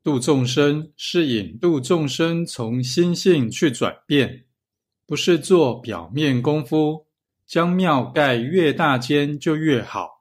度众生是引渡众生从心性去转变，不是做表面功夫，将庙盖越大间就越好。